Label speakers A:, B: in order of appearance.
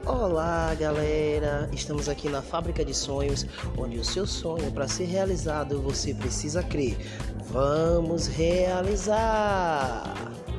A: Olá, galera! Estamos aqui na Fábrica de Sonhos, onde o seu sonho, para ser realizado, você precisa crer. Vamos realizar!